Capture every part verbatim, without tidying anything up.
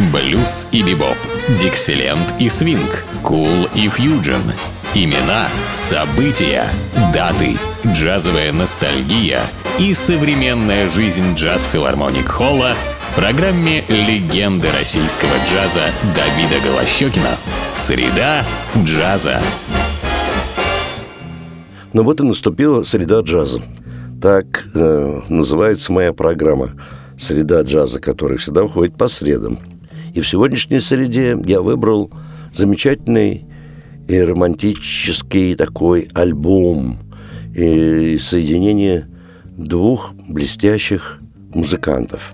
Блюз и бибоп, диксиленд и свинг, кул и фьюджен. Имена, события, даты, джазовая ностальгия и современная жизнь джаз-филармоник Холла в программе «Легенды российского джаза» Давида Голощёкина. Среда джаза. Ну вот и наступила среда джаза. Так э, называется моя программа «Среда джаза», которая всегда выходит по средам. И в сегодняшней среде я выбрал замечательный и романтический такой альбом и соединение двух блестящих музыкантов.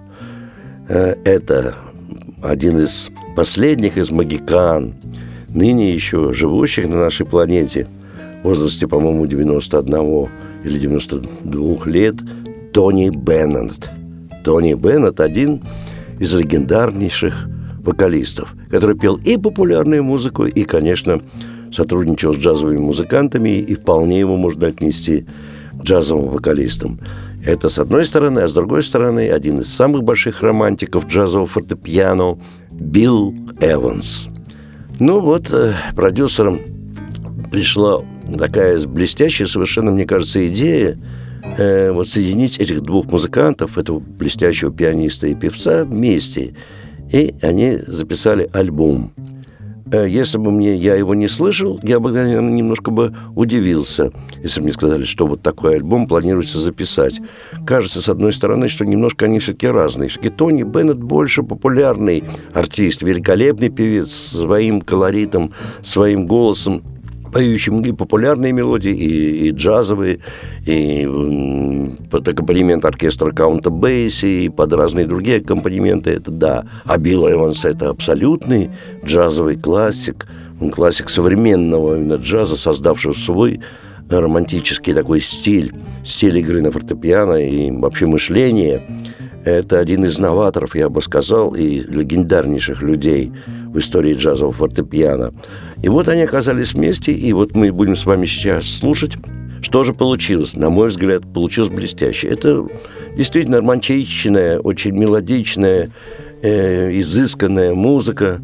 Это один из последних из могикан, ныне еще живущих на нашей планете, в возрасте, по-моему, девяносто один или девяносто два лет, Тони Беннет. Тони Беннет – один из легендарнейших вокалистов, который пел и популярную музыку, и, конечно, сотрудничал с джазовыми музыкантами, и вполне его можно отнести к джазовым вокалистам. Это с одной стороны, а с другой стороны один из самых больших романтиков джазового фортепиано Билл Эванс. Ну вот, продюсером пришла такая блестящая совершенно, мне кажется, идея э, вот соединить этих двух музыкантов, этого блестящего пианиста и певца вместе. И они записали альбом. Если бы мне, я его не слышал, я бы, наверное, немножко бы удивился, если бы мне сказали, что вот такой альбом планируется записать. Кажется, с одной стороны, что немножко они все-таки разные. Все-таки Тони Беннет больше популярный артист, великолепный певец, своим колоритом, своим голосом, поющим и популярные мелодии, и, и джазовые, и под аккомпанемент оркестра Каунта Бейси, и под разные другие аккомпанементы, это да. А Билл Эванс – это абсолютный джазовый классик, он классик современного именно джаза, создавшего свой романтический такой стиль, стиль игры на фортепиано и вообще мышления. Это один из новаторов, я бы сказал, и легендарнейших людей в истории джазового фортепиано. И вот они оказались вместе, и вот мы будем с вами сейчас слушать, что же получилось. На мой взгляд, получилось блестяще. Это действительно романтичная, очень мелодичная, э, изысканная музыка.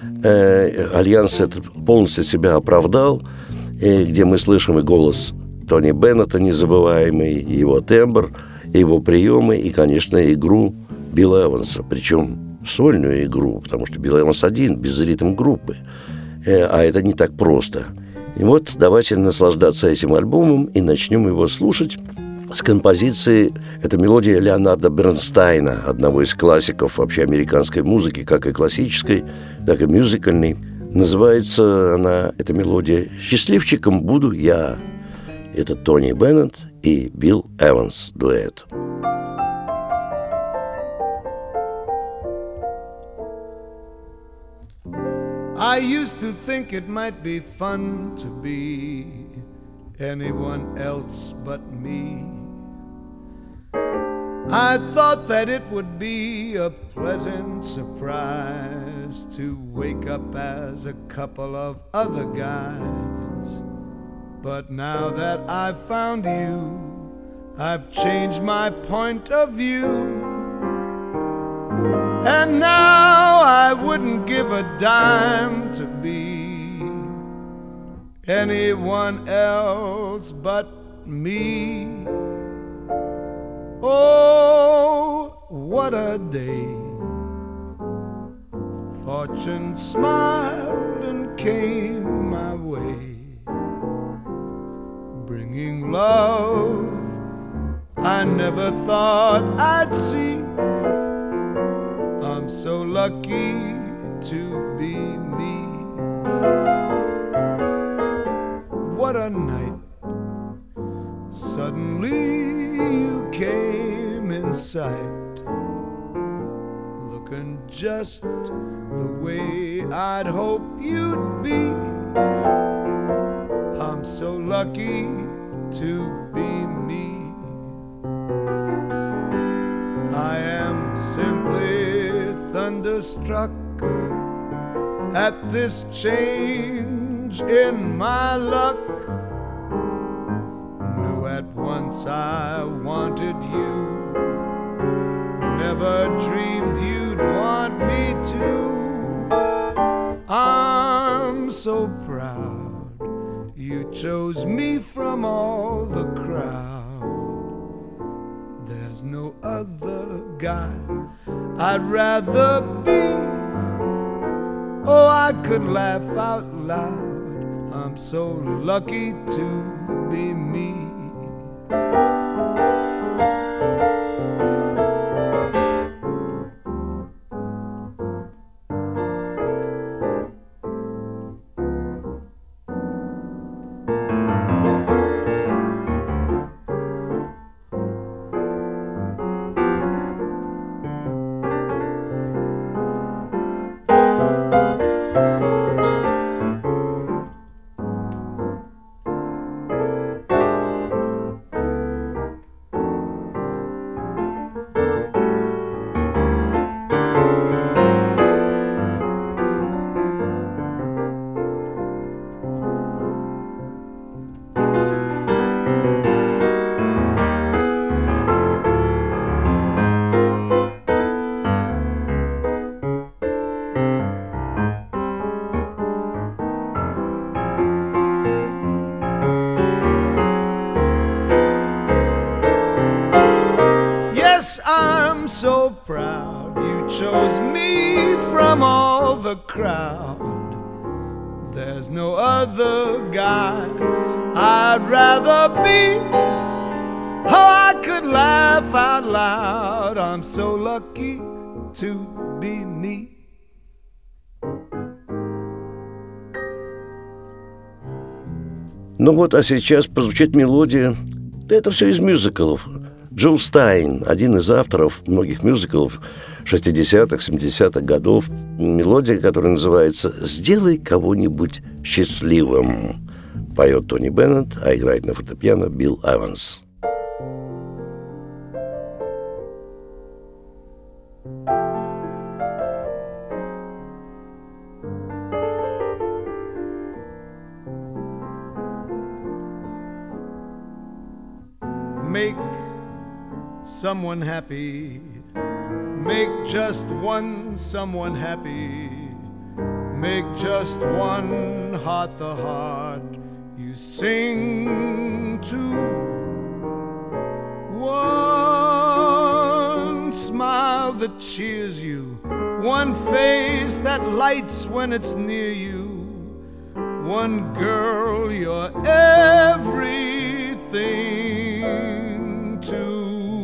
Э, Альянс этот полностью себя оправдал, э, где мы слышим и голос Тони Беннета незабываемый, и его тембр, и его приемы, и, конечно, игру Билла Эванса. Причем сольную игру, потому что Билл Эванс один, без ритм-группы. А это не так просто. И вот давайте наслаждаться этим альбомом и начнем его слушать с композиции. Это мелодия Леонарда Бернстайна, одного из классиков вообще американской музыки, как и классической, так и мюзикальной. Называется она, эта мелодия «Счастливчиком буду я». Это Тони Беннет и Билл Эванс дуэт. I used to think it might be fun to be anyone else but me. I thought that it would be a pleasant surprise to wake up as a couple of other guys. But now that I've found you, I've changed my point of view. And now I wouldn't give a dime to be anyone else but me. Oh, what a day. Fortune smiled and came my way, bringing love I never thought I'd see. I'm so lucky to be me. What a night. Suddenly you came in sight, looking just the way I'd hope you'd be. I'm so lucky to be me. I am simply thunderstruck at this change in my luck. Knew at once I wanted you, never dreamed you'd want me to. so proud you chose me from all the crowd. There's no other guy I'd rather be. Oh, I could laugh out loud, I'm so lucky to be me. I'm so proud you chose me from all the crowd. There's no other guy I'd rather be. Oh, I could laugh out loud, I'm so lucky to be me. Ну вот, а сейчас прозвучит мелодия. Да это все из мюзиклов. Джо Стайн, один из авторов многих мюзиклов шестидесятых, семидесятых годов. Мелодия, которая называется «Сделай кого-нибудь счастливым». Поет Тони Беннет, а играет на фортепиано Билл Эванс. Make someone happy, make just one someone happy, make just one heart the heart you sing to, one smile that cheers you, one face that lights when it's near you, one girl you're everything to.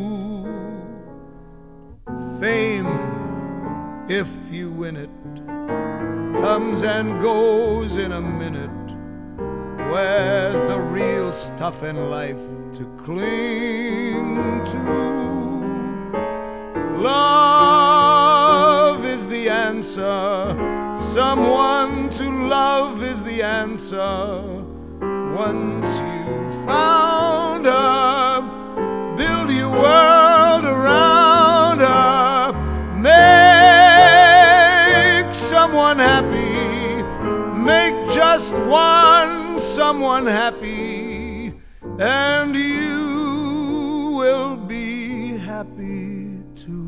Fame, if you win it, comes and goes in a minute. Where's the real stuff in life to cling to? Love is the answer, someone to love is the answer. Once you've found her, build your world around her. Make someone happy, make just one someone happy, and you will be happy too.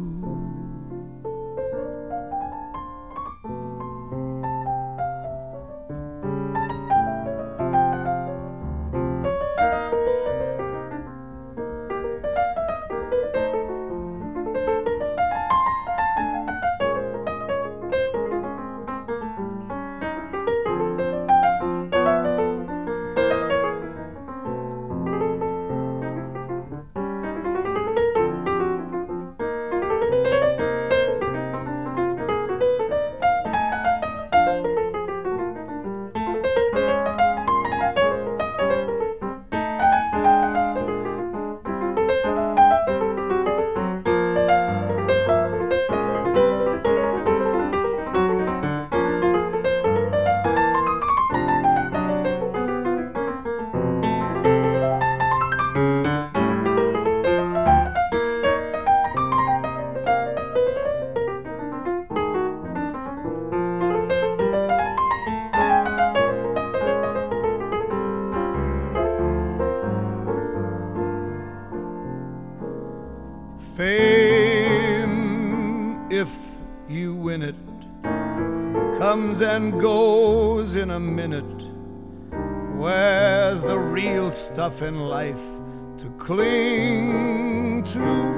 Fame, if you win it, comes and goes in a minute. Where's the real stuff in life to cling to?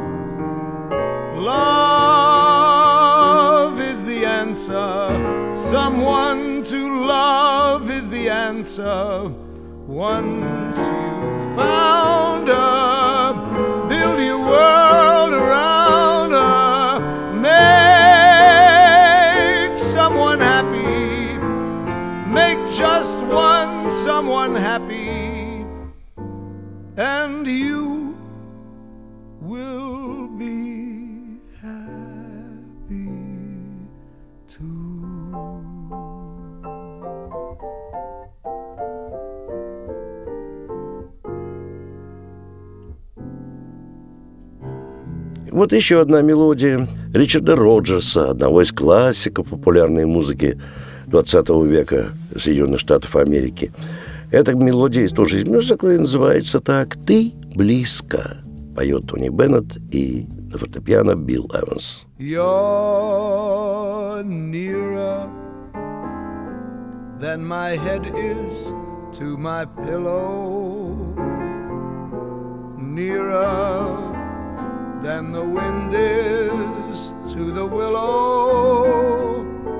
Love is the answer. Someone to love is the answer. Once you've found her, build your world around her. Make someone happy. Make just one someone happy, and you will be happy too. Вот еще одна мелодия Ричарда Роджерса, одного из классиков популярной музыки двадцатого века Соединенных Штатов Америки. Эта мелодия тоже из мюзикла и называется так «Ты близко». Поет Тони Беннет и на фортепиано Билл Эванс. You're nearer than my head is to my pillow, nearer than the wind is to the willow,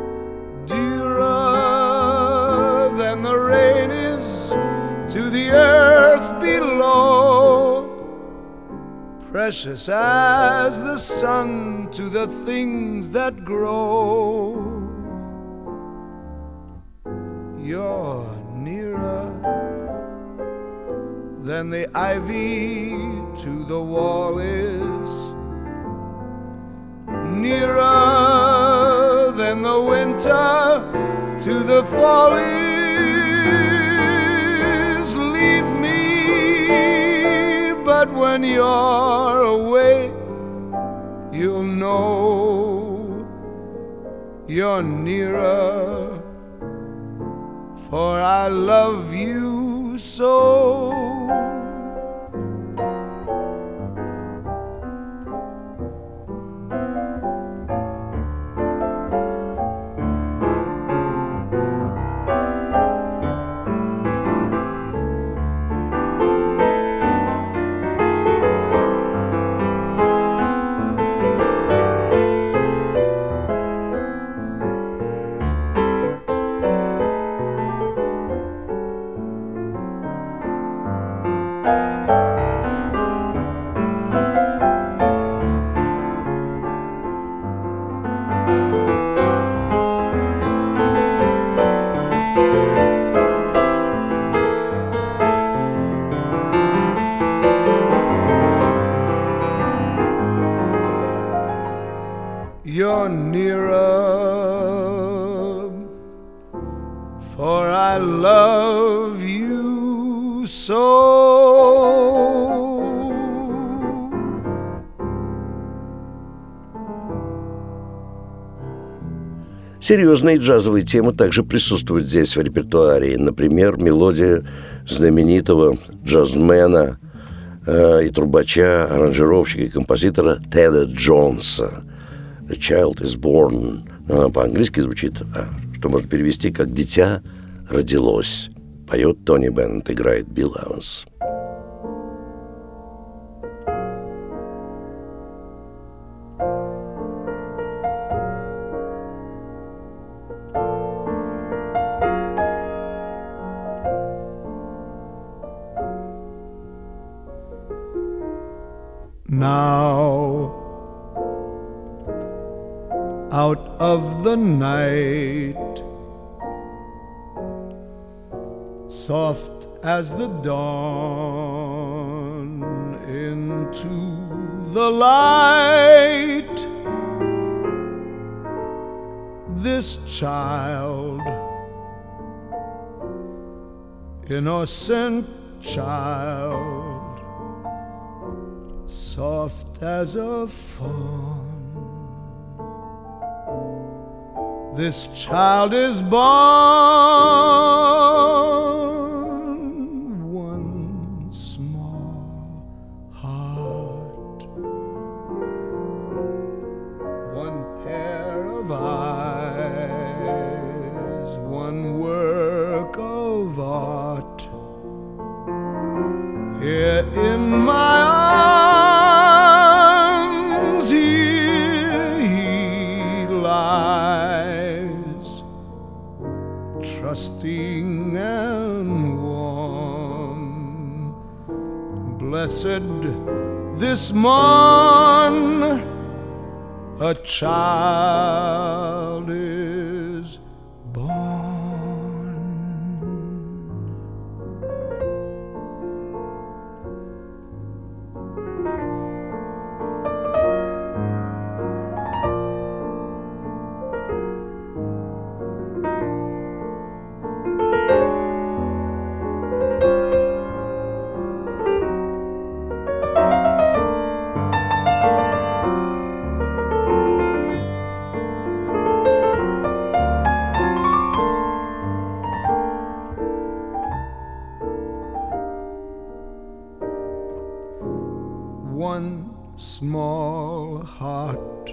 dearer than the rain is to the earth below, precious as the sun to the things that grow. You're nearer than the ivy to the wall is, nearer than the winter to the fall is. Leave me, but when you're away, you'll know you're nearer, for I love you so. You're nearer, for I love you so. Серьезные джазовые темы также присутствуют здесь в репертуаре. Например, мелодия знаменитого джазмена э, и трубача, аранжировщика и композитора Теда Джонса «A Child is Born». Она по-английски звучит, а, что можно перевести как «Дитя родилось». Поет Тони Беннет, играет Билл Эванс. Now, out of the night, soft as the dawn, into the light, this child, innocent child, soft as a fawn, this child is born, one small heart, one pair of eyes, in my arms, here he lies, trusting and warm. Blessed this morn, a child is born. One small heart,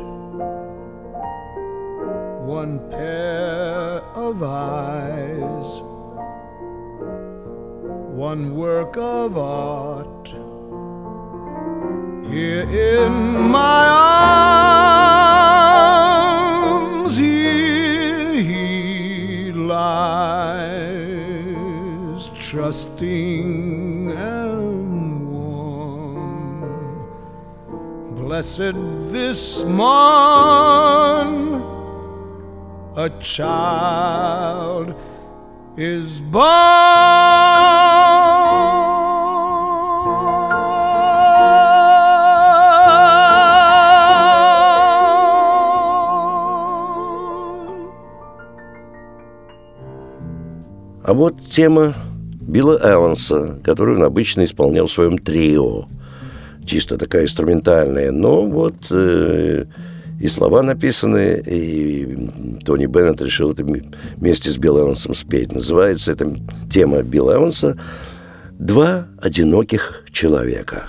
one pair of eyes, one work of art, here in my arms, here he lies, trusting and warm. Blessed this morn, a child is born. А вот тема Билла Эванса, которую он обычно исполнял в своем трио. Чисто такая инструментальная, но вот э, и слова написаны, и Тони Беннет решил это вместе с Биллом Эвансом спеть. Называется эта тема Билла Эванса «Два одиноких человека».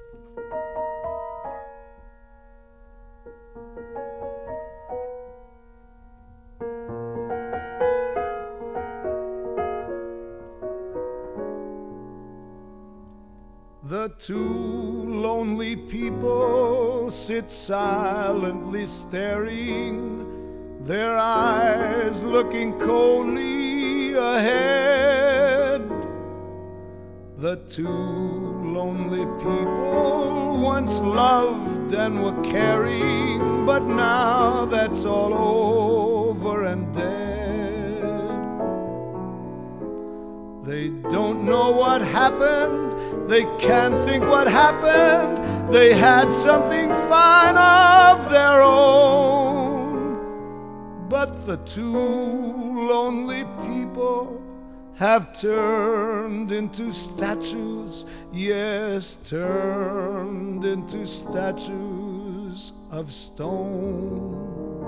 The two lonely people sit silently staring, their eyes looking coldly ahead. The two lonely people once loved and were caring, but now that's all over and dead. They don't know what happened, they can't think what happened. They had something fine of their own, but the two lonely people have turned into statues, yes, turned into statues of stone.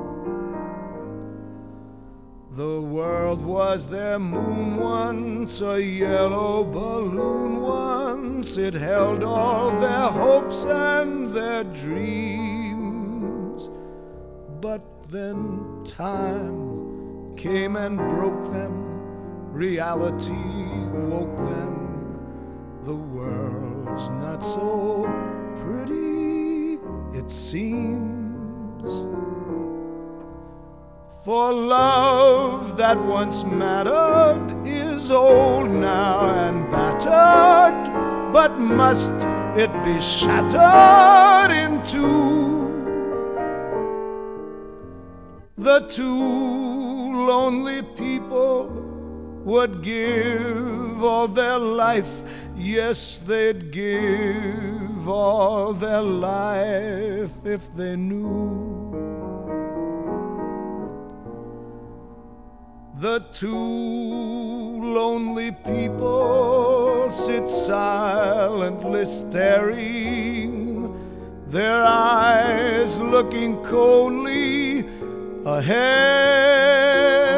The world was their moon once, a yellow balloon once. It held all their hopes and their dreams. But then time came and broke them, reality woke them. The world's not so pretty, it seems. For love that once mattered is old now and battered, but must it be shattered in two? The two lonely people would give all their life, yes, they'd give all their life if they knew. The two lonely people sit silently staring, their eyes looking coldly ahead.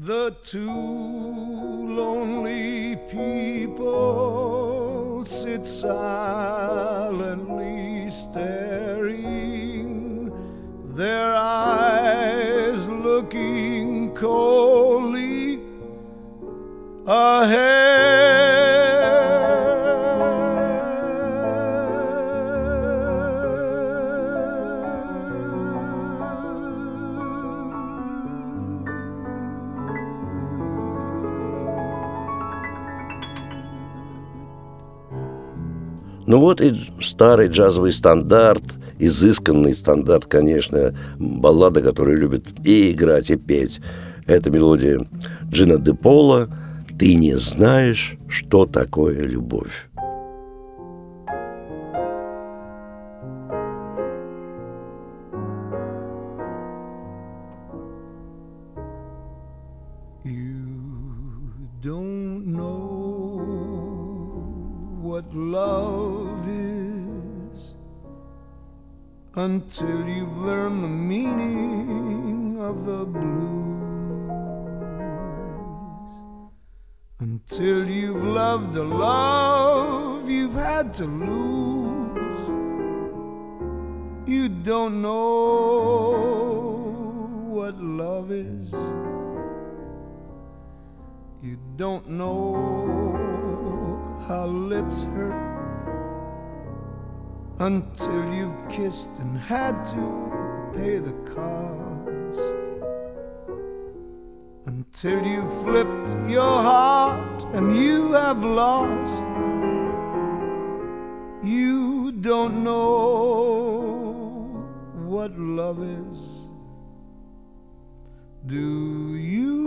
The two lonely people sit silently staring, their eyes looking coldly ahead. Ну вот и старый джазовый стандарт, изысканный стандарт, конечно, баллада, которую любят и играть, и петь. Это мелодия Джина де Пола «Ты не знаешь, что такое любовь». Love is until you've learned the meaning of the blues, until you've loved a love you've had to lose. You don't know what love is. You don't know how lips hurt until you've kissed and had to pay the cost, until you've flipped your heart and you have lost. You don't know what love is. Do you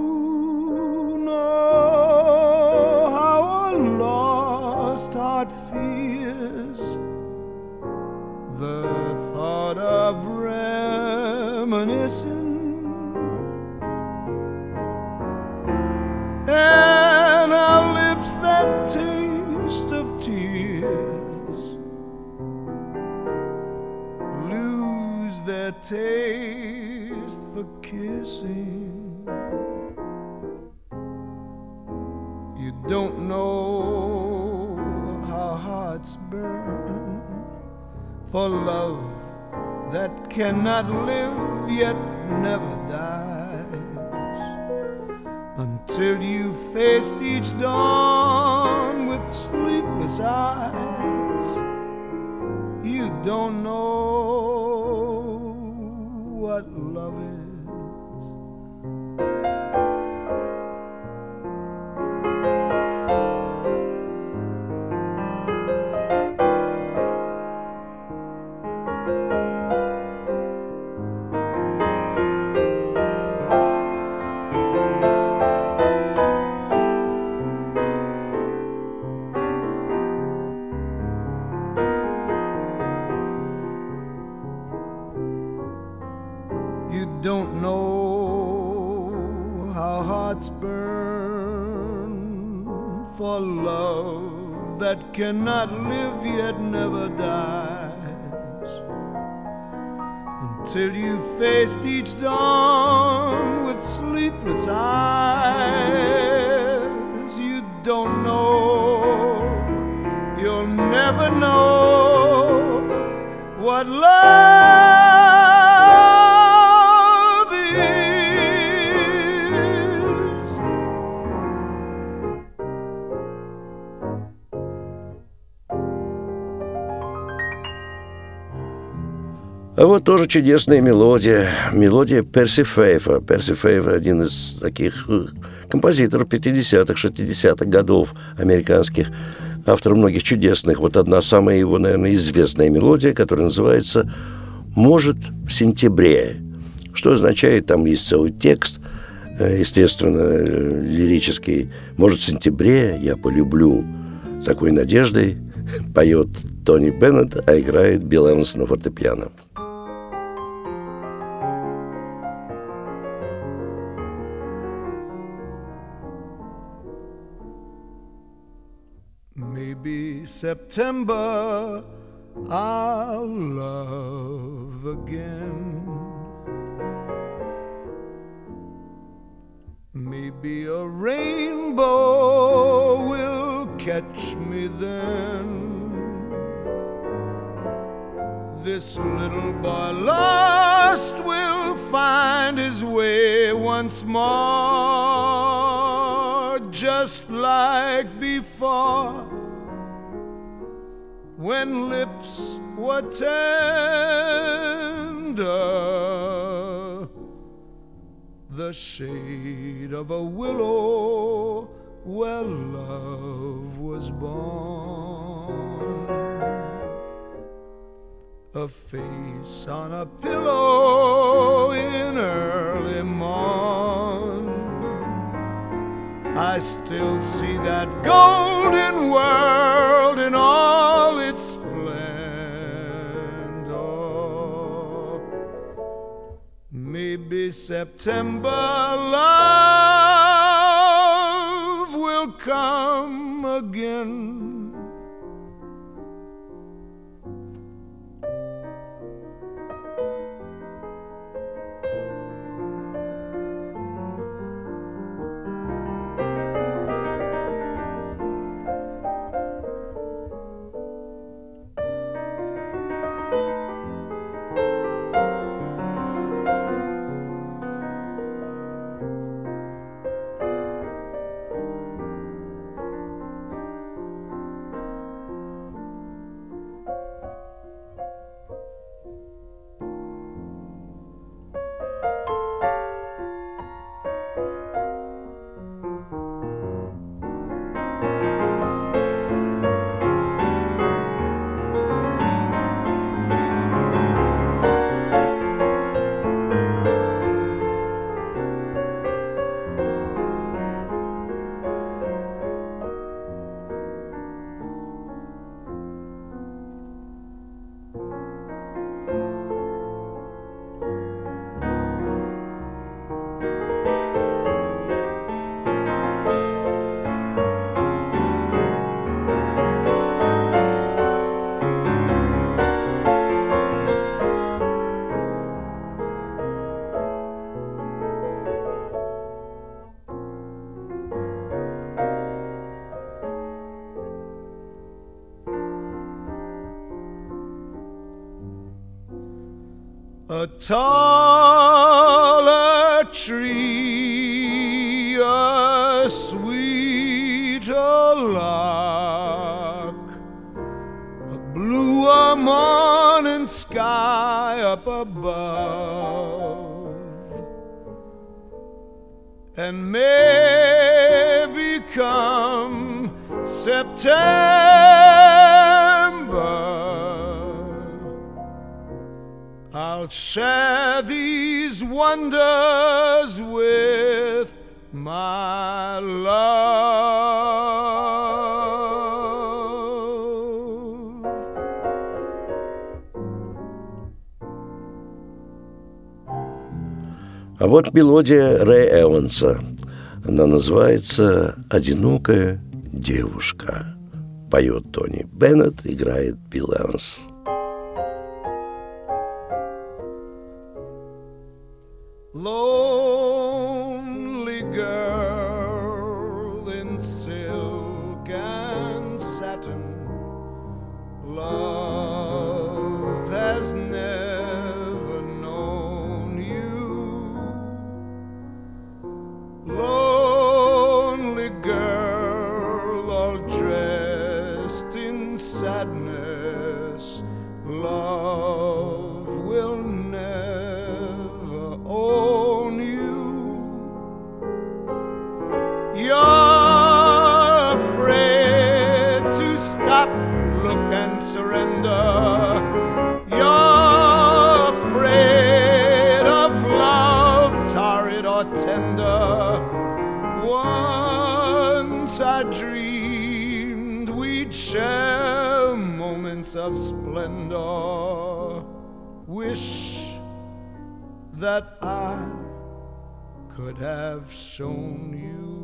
know how a lost heart fears? The thought of reminiscing and our lips that taste of tears lose their taste for kissing. You don't know how hearts burn for love that cannot live yet never dies, until you faced each dawn with sleepless eyes. You don't know what love is. You don't know how hearts burn for love that cannot live yet never dies, until you faced each dawn with sleepless eyes. You don't know, you'll never know what love А вот тоже чудесная мелодия. Мелодия Перси Фейфа. Перси Фейф – один из таких композиторов пятидесятых, шестидесятых годов американских, автор многих чудесных. Вот одна самая его, наверное, известная мелодия, которая называется «Может, в сентябре». Что означает, там есть целый текст, естественно, лирический. «Может, в сентябре я полюблю». С такой надеждой поет Тони Беннет, а играет Билл Эванс на фортепиано. Maybe September I'll love again. Maybe a rainbow will catch me then. This little boy lost will find his way once more, just like before, when lips were tender, the shade of a willow where love was born. A face on a pillow in early morn. I still see that golden world in all its splendor. Maybe September love will come again. A taller tree, a sweeter lark, a bluer morning sky up above, and maybe come September, I'll share these wonders with my love. А вот мелодия Рэя Эванса. Она называется «Одинокая девушка». Поет Тони Беннет, играет Билл Эванс. Lonely girl in silk and satin, love has never known you. Lonely girl, all dressed in sadness, love will never own you. You're afraid to stop, look and surrender. You're afraid of love, torrid or tender. Once I dreamed we'd share moments of splendor. Wish that I could have shown you.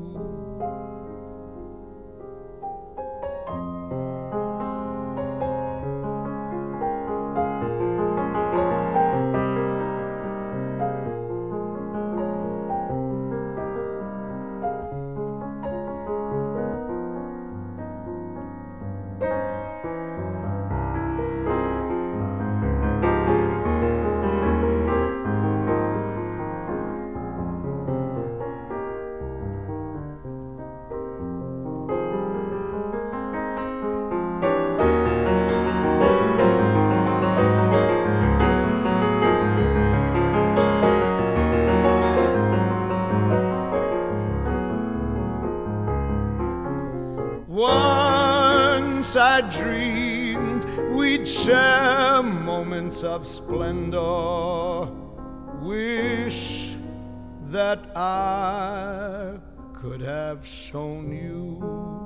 I dreamed we'd share moments of splendor. Wish that I could have shown you.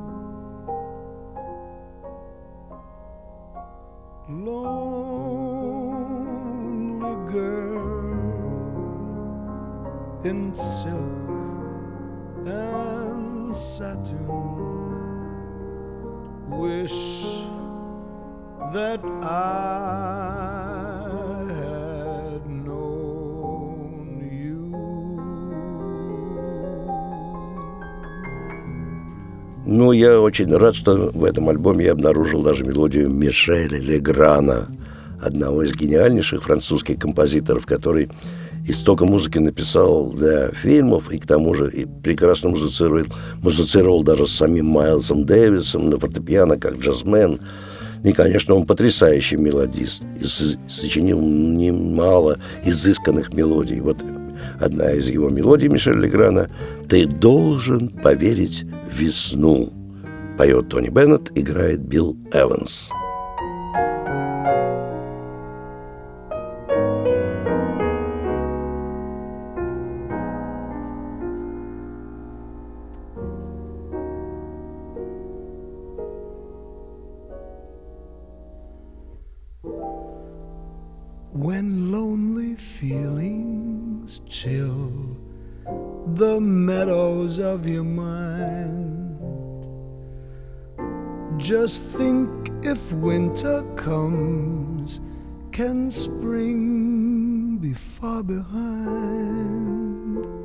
Lonely girl in silk and satin, wish that I had known you. Ну, я очень рад, что в этом альбоме я обнаружил даже мелодию Мишеля Леграна, одного из гениальнейших французских композиторов, который и столько музыки написал для фильмов, и к тому же и прекрасно музицировал, музицировал даже с самим Майлзом Дэвисом на фортепиано, как джазмен. И, конечно, он потрясающий мелодист, и сочинил немало изысканных мелодий. Вот одна из его мелодий Мишеля Леграна «Ты должен поверить в весну». Поет Тони Беннет, играет Билл Эванс. When lonely feelings chill the meadows of your mind, just think if winter comes, can spring be far behind?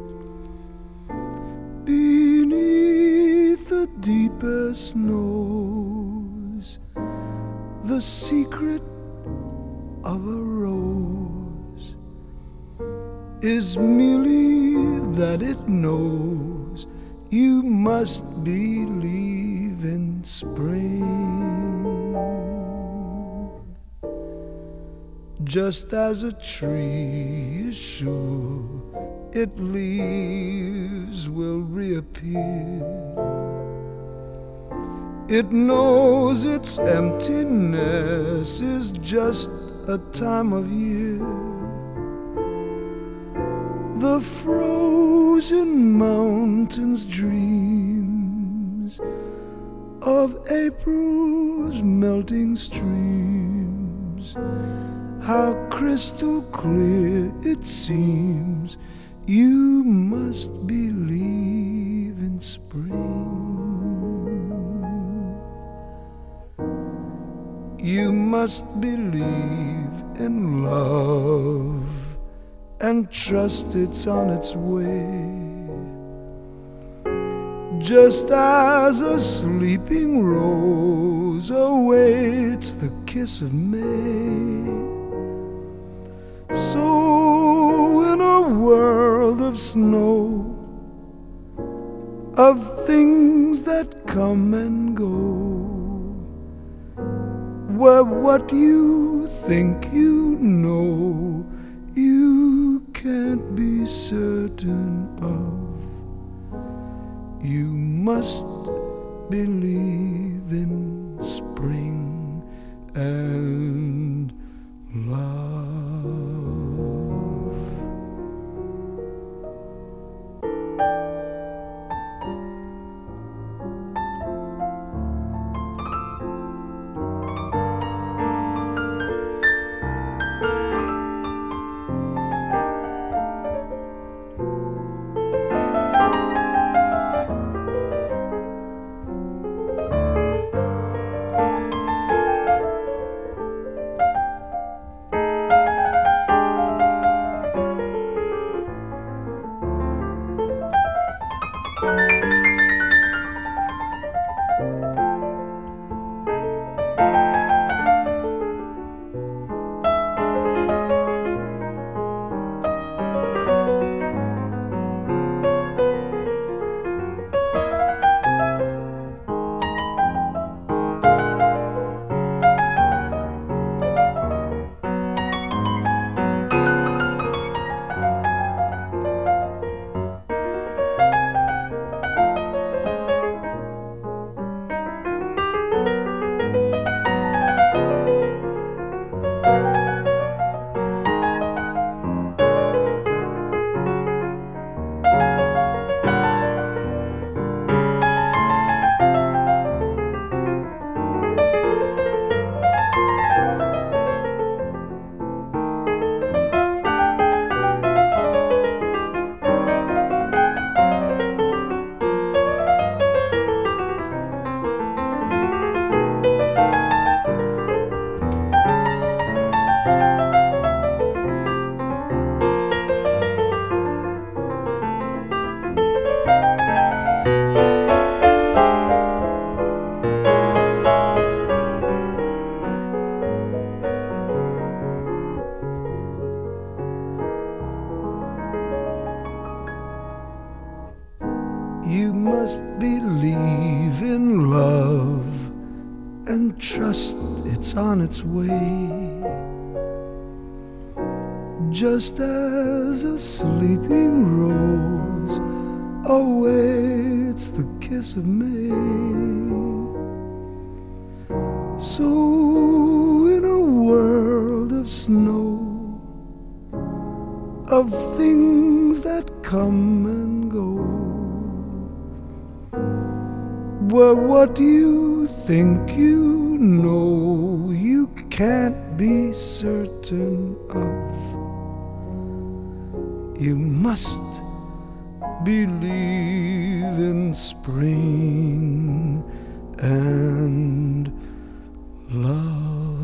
Beneath the deeper snows, the secret of a rose is merely that it knows you must believe in spring. Just as a tree is sure its leaves will reappear, it knows its emptiness is just a time of year. The frozen mountains dreams of April's melting streams. How crystal clear it seems you must believe in spring. You must believe in love and trust it's on its way. Just as a sleeping rose awaits the kiss of May, so in a world of snow, of things that come and go, where what you think you know you can't be certain of, you must believe in spring and love. trust it's on its way. Just as a sleeping rose awaits the kiss of May, so in a world of snow, of things that come and go, well, what do you think you know you can't be certain of? You must believe in spring and love.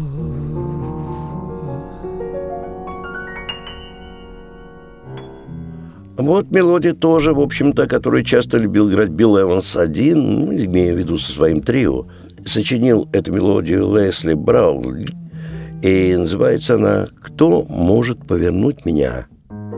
Вот мелодия тоже, в общем-то, которую часто любил играть Билл Эванс один, ну, имея в виду со своим трио. Сочинил эту мелодию Лесли Браун, и называется она «Кто может повернуть меня?»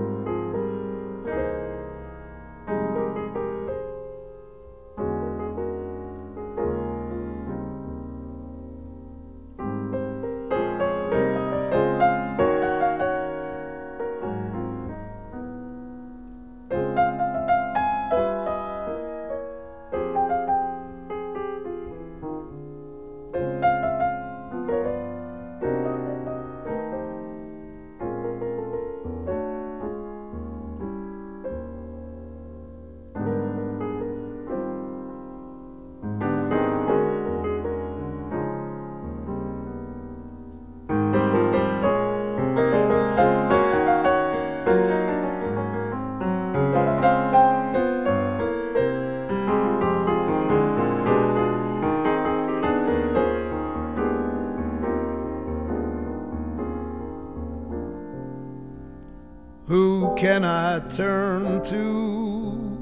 Who can I turn to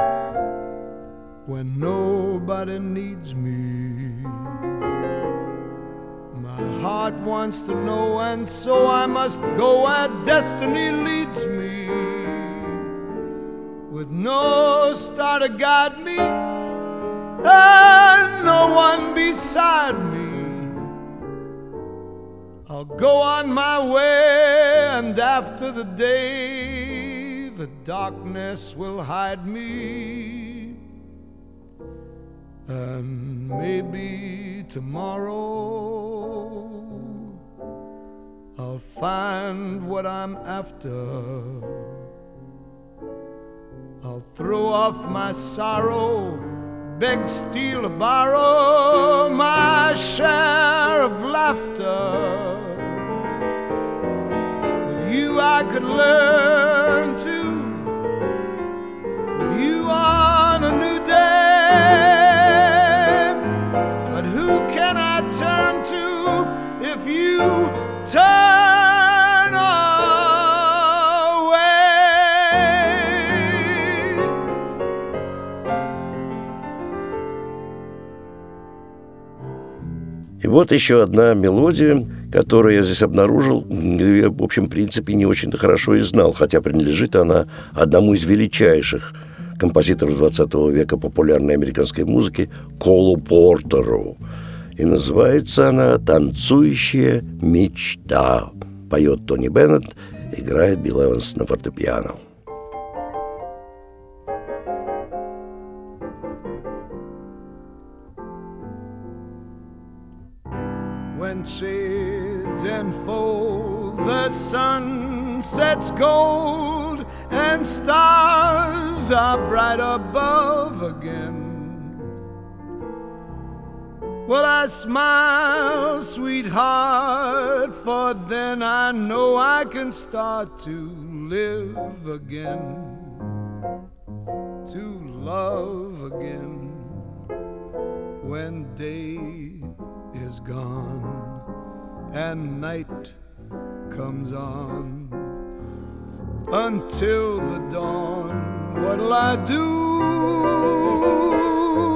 when nobody needs me? My heart wants to know, and so I must go where destiny leads me. With no star to guide me and no one beside me, I'll go on my way, and after the day, the darkness will hide me. And maybe tomorrow I'll find what I'm after. I'll throw off my sorrow, beg, steal, or borrow my share of laughter. With you I could learn to, with you on a new day. But who can I turn to if you turn away? И вот еще одна мелодия, которую я здесь обнаружил, и, в общем, в принципе, не очень-то хорошо и знал, хотя принадлежит она одному из величайших композиторов двадцатого века популярной американской музыки Колу Портеру. И называется она «Танцующая мечта». Поет Тони Беннет, играет Билл Эванс на фортепиано. When shades enfold, the sun sets gold, and stars are bright above again. Well, I smile, sweetheart, for then I know I can start to live again, to love again, when day is gone and night comes on. Until the dawn, what'll I do?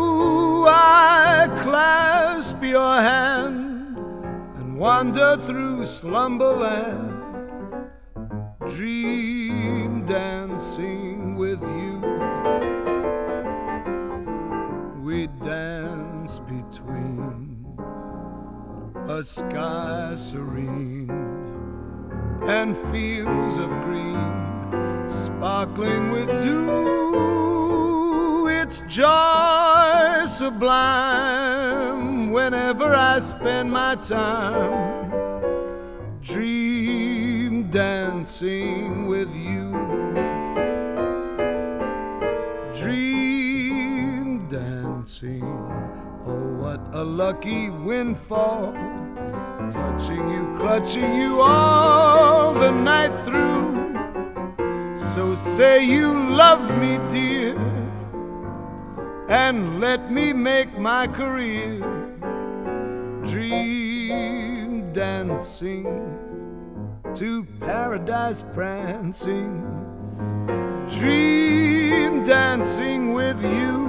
I clasp your hand and wander through slumberland, dream dancing with you. We dance between a sky serene, and fields of green sparkling with dew. It's joy sublime whenever I spend my time dream dancing with you. Dream dancing, oh what a lucky windfall, touching you, clutching you all the night through. So say you love me, dear, and let me make my career dream dancing to paradise prancing, dream dancing with you.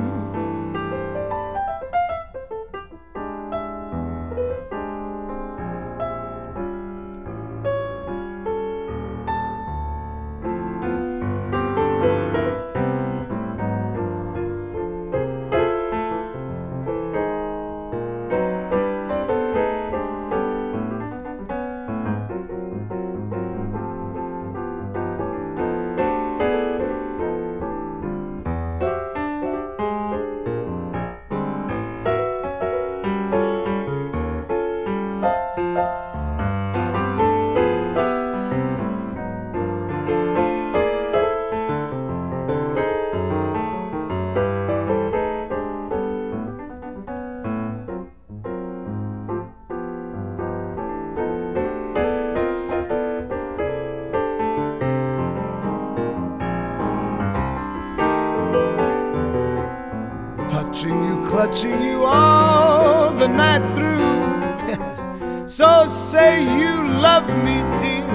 Touching you, clutching you all the night through. So say you love me, dear,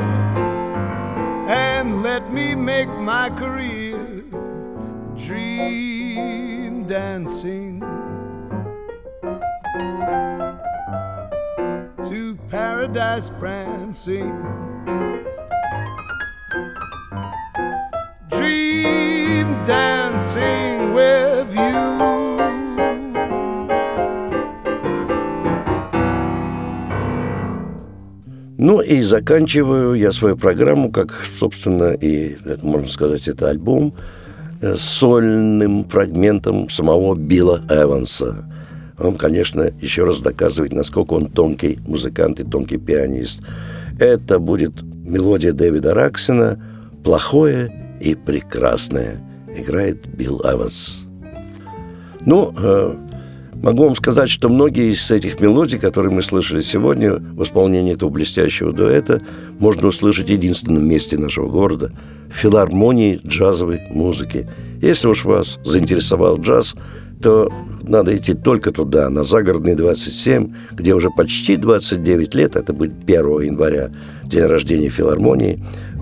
and let me make my career dream dancing to paradise prancing, dream dancing with you. Ну и заканчиваю я свою программу, как, собственно, и, это, можно сказать, это альбом, сольным фрагментом самого Билла Эванса. Он, конечно, еще раз доказывает, насколько он тонкий музыкант и тонкий пианист. Это будет мелодия Дэвида Раксина «Плохое и прекрасное». Играет Билл Эванс. Ну, могу вам сказать, что многие из этих мелодий, которые мы слышали сегодня в исполнении этого блестящего дуэта, можно услышать в единственном месте нашего города – в филармонии джазовой музыки. Если уж вас заинтересовал джаз, то надо идти только туда, на Загородной двадцать семь, где уже почти двадцать девять лет, это будет первого января, день рождения филармонии,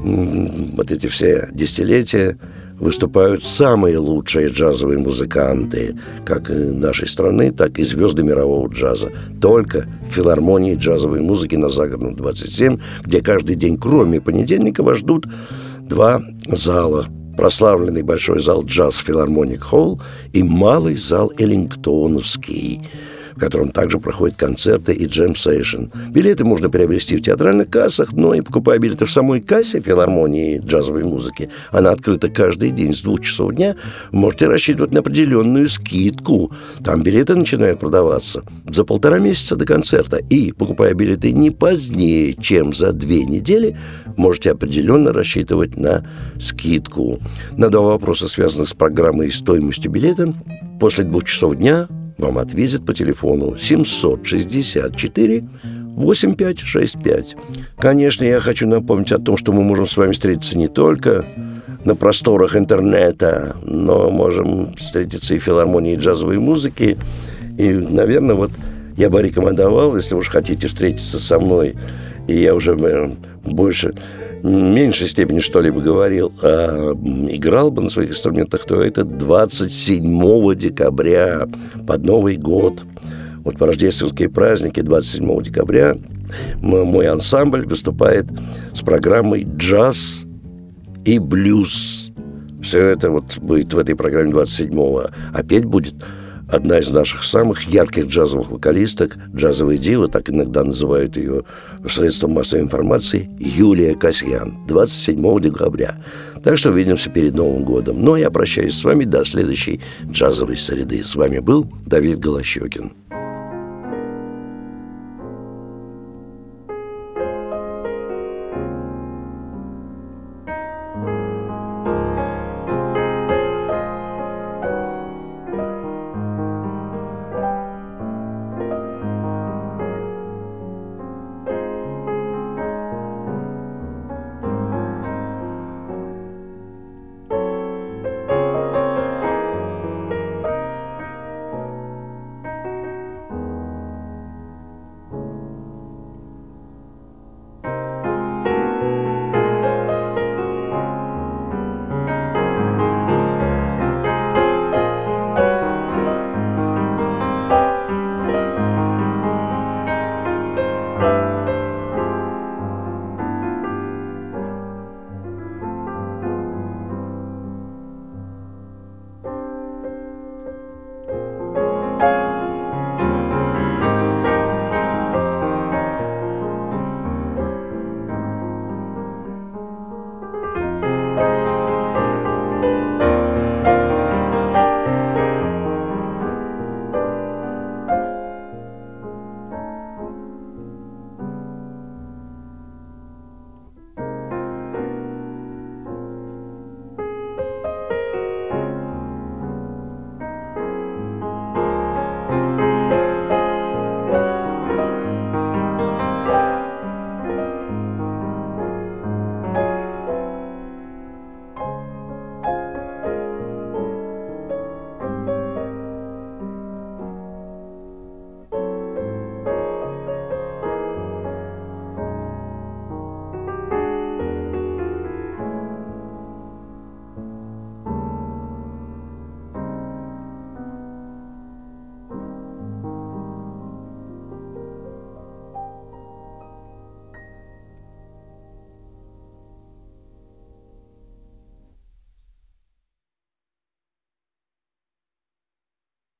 вот эти все десятилетия, выступают самые лучшие джазовые музыканты, как нашей страны, так и звезды мирового джаза. Только в филармонии джазовой музыки на Загородном двадцать семь, где каждый день, кроме понедельника, вас ждут два зала. Прославленный большой зал «Джаз Филармоник Холл» и малый зал «Эллингтоновский», в котором также проходят концерты и джем-сейшн. Билеты можно приобрести в театральных кассах, но и покупая билеты в самой кассе филармонии джазовой музыки, она открыта каждый день с двух часов дня, можете рассчитывать на определенную скидку. Там билеты начинают продаваться за полтора месяца до концерта. И, покупая билеты не позднее, чем за две недели, можете определенно рассчитывать на скидку. На два вопроса, связанных с программой и стоимостью билета, после двух часов дня вам ответят по телефону семьсот шестьдесят четыре восемьдесят пять шестьдесят пять. Конечно, я хочу напомнить о том, что мы можем с вами встретиться не только на просторах интернета, но можем встретиться и в филармонии джазовой музыки. И, наверное, вот я бы рекомендовал, если уж хотите встретиться со мной, и я уже больше, в меньшей степени что-либо говорил, а играл бы на своих инструментах, то это двадцать седьмого декабря, под Новый год. Вот по рождественские праздники двадцать седьмого декабря мой ансамбль выступает с программой «Джаз и блюз». Все это вот будет в этой программе двадцать седьмого. А петь будет одна из наших самых ярких джазовых вокалисток, джазовая дива, так иногда называют ее в средствах массовой информации, Юлия Касьян, двадцать седьмого декабря. Так что увидимся перед Новым годом. Ну, а я прощаюсь с вами до следующей джазовой среды. С вами был Давид Голощёкин.